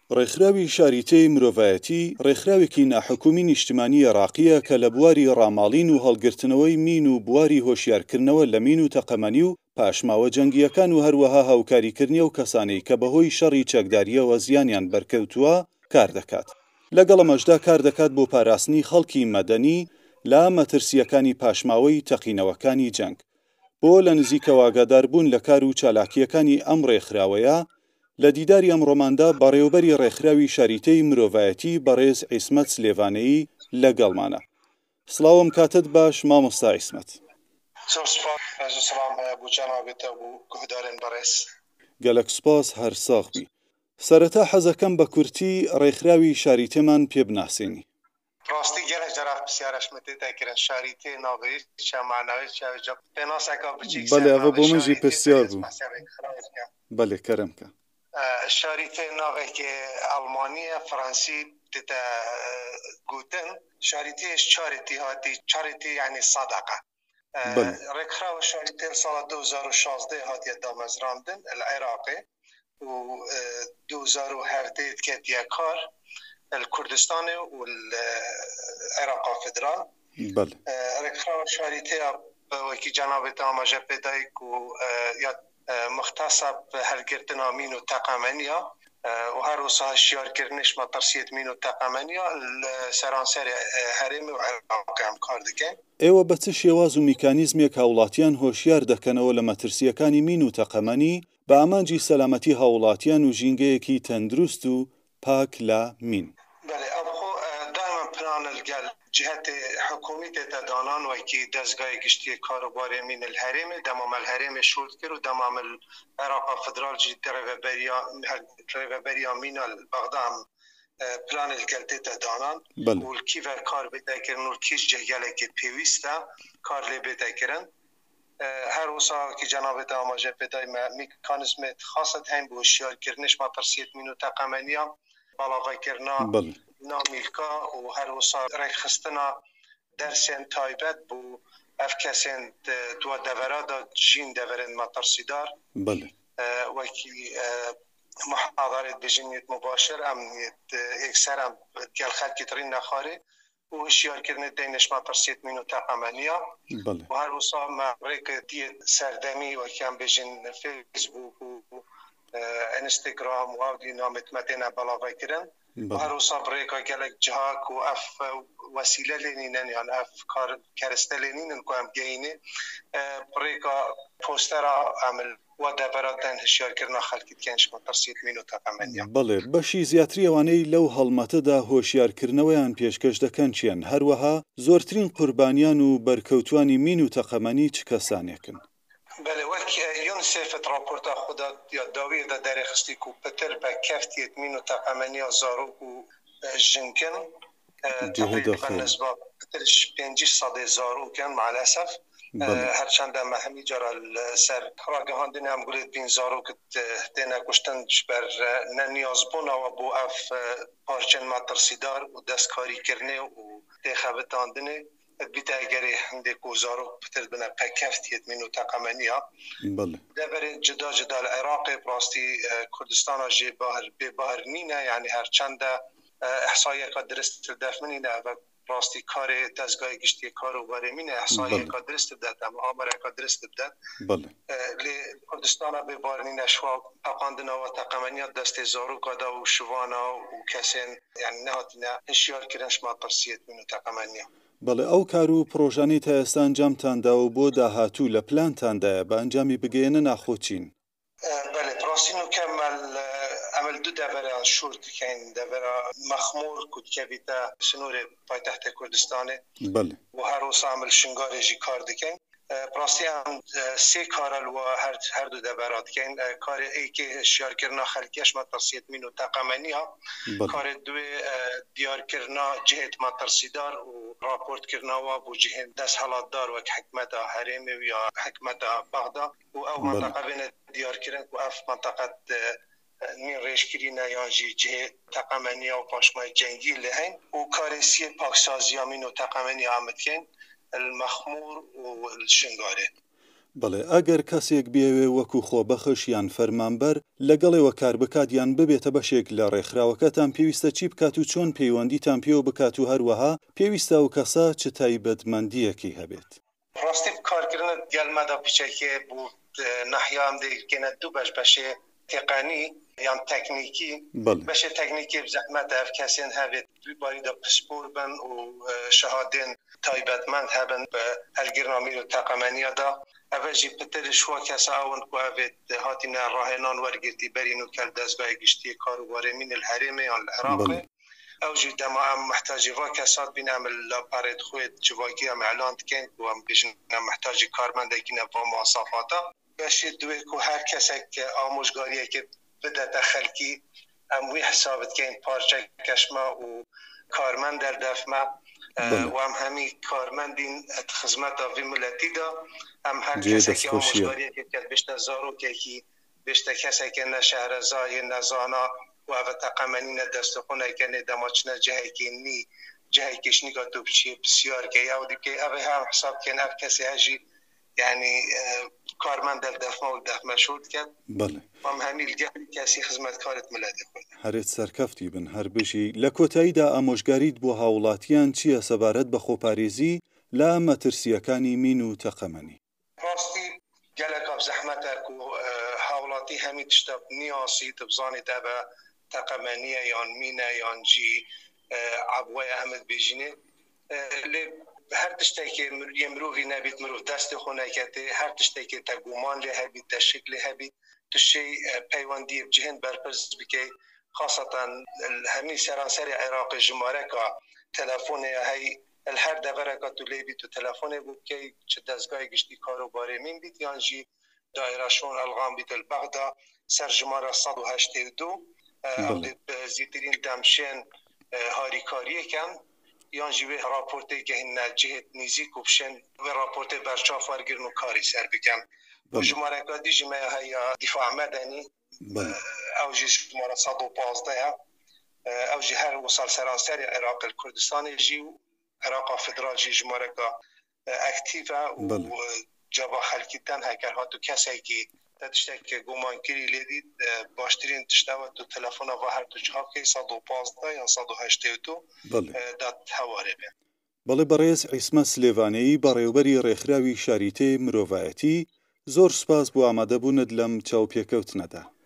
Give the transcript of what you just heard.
ڕێکخراوی شاریتەی مرۆڤایەتی ڕێکخراوێکی ناحکومی نیشتیمانی عێراقیە کە لە بواری ڕاماڵین و هەڵگرتنەوەی مین و بواری هۆشیارکردنەوە لە مین و تەقەمەنی و پاشماوە جەنگیەکان و هەروەها هاوکاریکردنی و کەسانەی کە بەهۆی شەڕی چەکداریەوە زیانیان بەرکەوتووە کار دەکات. لەگەڵ ئەمەشدا کار دەکات بۆ پاراستنی خەڵکی مەدەنی لە مەترسیەکانی پاشماوەی تەقینەوەکانی جەنگ. بۆ لە نزیکەوە ئاگاداربوون لە کار و چالاکیەکانی ئەم ڕێکخراوەیە لە دیداری ئەمڕۆماندا بەڕێوەبەری ڕێکخراوی شاریتەی مرۆڤایەتی بەڕێز عیسمەت سلێڤانەیی لەگەڵمانە. سڵاوم کاتت باش مامۆستا عیسمەت. گەلک سپاس هەر ساغبی. سەرەتا حەزەکەم بە کورتی ڕێکخراوی شاریتەمان پێ بناسێنی. راستی گەلک جەرات پرسیارەشمە تێکرا شاریتەی ناوەیەک چا معناوی چا پێناسێکا بچیک بەڵێ ئەوە بۆ منژی پرسیار بوو. بەڵێ کەرەمکە. شاریتەی ناوێکی ئەڵمانیە فەڕەنسی تێتە گوتن شاریتەیەش چارێتی هاتی چارێتی یعنی سەدەقە. ڕێکخراوە شاریتەی ساڵە 2016 هاتیە دامەزراندن لە عێراقی و 2017 کەتیە کار الكردستان والعراق فدرال. ركخراوة شاريتها وكي جنابت آماجة بدايك ومختصة بهالقرتنا مينو تقامنيا وهروسا الشيار كرنش ما ترسيت مينو تقامنيا السرانسر هرمي وعراق هم كار دكين. ئێوە بە چ شێواز و میکانیزمێک هاوڵاتیان هۆشیار دەکەنەوە لە مەترسیەکانی مین و تەقەمەنی بە ئامانجی سەلامەتی هاوڵاتیان و ژینگەیەکی تەندروست و پاک لە مین. جهت حکومت تدانان و کی دستگاه گشتی کاروبار مین الحرم دمام الحرم شورت کرد و دمام العراق فدرال جی ترببریا مین البغدام پلان الگلت تدانان و کی و کار بده کردن و کیش جهیله که پیوسته کار لی بده کردن هر وسا کی جنابت آماجه بدای میکانیزم خاصت هم به هوشیار کردنش ما ترسیت مینو تقامنیا بالاغای کرنا نامیلکا و هر وسا رای خستنا درسین تایبت بو افکسین دو دورات جین دورن مترسیدار و کی محاضرات بجنیت مباشر امنیت اکثر هم گل خلقی ترین نخاره و هشیار کردن دینش مترسیت مینو تقامنیا و هر وسا ریک دیت سردمی و کم بجن فیسبوک و انستغرام و آودی نامت مدینه بلاغای کردن و هر وسا بریکا گلک جهاک و اف وسیله لینینن یعنی اف کار کرسته لینینن که هم گینه بریکا پوسترا عمل و دوراتن هشیار کردن خلقیت کنش مترسیت مینو تقامنیا. بله بەشی زیاتری ئەوانەی لەو هەڵمەتەدا هۆشیارکردنەوەیان پێشکەش دەکەن چیان هەروەها زۆرترین قوربانیان و بەرکەوتوانی مین و تەقەمەنی چ کەسانێکن؟ بله وقت یونیسف راپورتا خدا یا داوی دا درخستی کو پتر با کفتیت مینو تقامنی زاروک و جنکن تقریبا نسبت پترش 500 زاروکن مع الاسف هرچند ما همی جرا سر راگهاندن هم گلید بین زاروک تینا کشتن بر ننیاز بونا و بو اف پارچن مترسیدار و دستکاری کرنه و تخبتاندنه بیت اگری هنده کوزارو پتر بنا پکفتیت منو تقامنیا دبر جدا جدا العراق براستی کردستان جی بهر نینه یعنی هر چند احصایه که درست دفمنینه و براستی کار دستگاه گشتی کارو برمینه احصایه که درست داد اما آمره که درست داد لی کردستان بهر نینه شوا پاقاندنا و تقامنیا دست زارو کادا و شوانا و کسین یعنی نهاتینا هشیار کرنش ما ترسیت منو تقامنیا. بەڵێ ئەو کار و پرۆژانەی تا ئێستا ئەنجامتاندا و بۆ داهاتوو لە پلانتاندایە بە ئەنجامی بگەێنە ناخۆچین. بەڵێ پڕاستی نوکەمەل ئەمەل دوو دەڤەرە شور دکەین دەڤەرە مەخموور کوتکەبیتە سنوورێ پایتەختە کوردستانێ و هەروەسا ئەمەل شنگارێژی کار دکەین. پڕاستی ئەم سێ کارە و هەردوو دەڤەرە دکەین کارێ ئەیکێ هشیارکردنا خەلکیەش مەترسیت مین و تەقەمەنیە کارێ دوێ دیارکردنا جهێت مەترسیدار و راپورت کرناوا بو جهن دست حالاتدار وک حکمت حرمی و یا حکمت بغدا و او منطقه بین دیار کرن و اف منطقه نین ریشکرین یا جه تقامنی و پاشمای جنگی لهن و کارسی پاکسازی امین و تقامنی آمد کن المخمور و الشنگاره. بەڵێ ئەگەر کەسێک بێوێ وەکو خۆبەخش یان فەرمانبەر لەگەڵێەوە کار بکات یان ببێتە بەشێک لە ڕێکخراوەکەتان پێویستە چی بکات و چۆن پەیوەندیتان پێوە بکات و هەروەها پێویستە ئەو کەسە چ تایبەتمەندیەکی هەبێت؟ ڕاستی کارکردن گەلمەدا پیچەکێ بوو نەحیام دەکەنە دوو بەشێ تقنی یان تەکنیکی بەشێ تەکنیکی بزەحمەت هەف کەسێن هەبێت باریدا پسپۆر بن و شەهادێن تایبەتمەند هەبن بە هەلگرنامی و تەقەمەنیەدا ئەڤەژی پترش وە کەسە ئەون کو ئەڤێت هاتینە ڕاهێنان وەرگرتی بەرین و کەل دەستگای گشتی کاروبارێمین الهەرێمێ یان العێراقێ او جي دما محتاج كاسات بينا من لاباريت خويت جواكي ام اعلان كان و ام بيجن محتاج كارمند كينا بمواصفاته باش دويكو هر كسك آموزگاریه که بده تخلکی ام وی حسابت كاين بارچه كشما و كارمند در دفما و ام همي كارمندين خدمت في ملتي دا ام هر كسك آموزگاریه که بشت زارو كي بشت كسك نه شهرزای نزانا و او تقامنین دستخونه کنه دماچنه جهه کشنی که تو بسیار که او دیگه او هم حساب کنه او کسی هجی یعنی کارمند در دفمه و دفمه شد کرد بله هم همیل گهی کسی خدمتکارت ملده کنه هەرێت سەرکەفتی بن هەر بژی لە کۆتاییدا ئامۆژگاریت بۆ هاوڵاتیان چییە سەبارەت بە خۆپارێزی لە مەترسیەکانی مین و تەقەمەنی؟ ڕاستی گەلێکا زەحمەتە و هاوڵاتی هەمی تشتە نیاسی تبزانی دەبە تقمانية يان مينا يان جي عبوية أحمد بيجيني هر تشتكي يمروفي نبيت مروف دست خونه كتي هر تشتكي تقومان لها بيت تشكل لها بيت تشي بيواندي بجهن برپرز بكي خاصة همي سرانسري عراق جماركا تلفون هاي الهر دبركا تولي بيت تلفون بكي دزگاه گشتي كاروباري من بيت يان جي دائرة شون الغام بيت البغدا سر جمارة 182 او زیترین دمشن هاریکاریه کن یان جوی راپورته که هنه جهت نیزی کبشن و راپورته برچاف ورگرن و کاری سر بکن و جمارکا دی جمعه های دفاع مدنی او جی جماره 115 او جی هر وصال سرانسر عراق الكردستان جی و عراق فدرال جی جمارکا اکتیفه و جابا خلکیتن هکر هاتو کسی که تشتكي گمان كري لدي باشترين تشتاوت تو تلفون و هر تو جهاكي 115 یا 182 دات هواري بين بەڵێ بەڕێز عیسمە سلێڤانەیی بەڕێوەبەری ڕێکخراوی شاریتێ مرۆڤایەتی زۆر سوپاس بۆ ئامادەبوونت لەم چاوپێکەوتنەدا.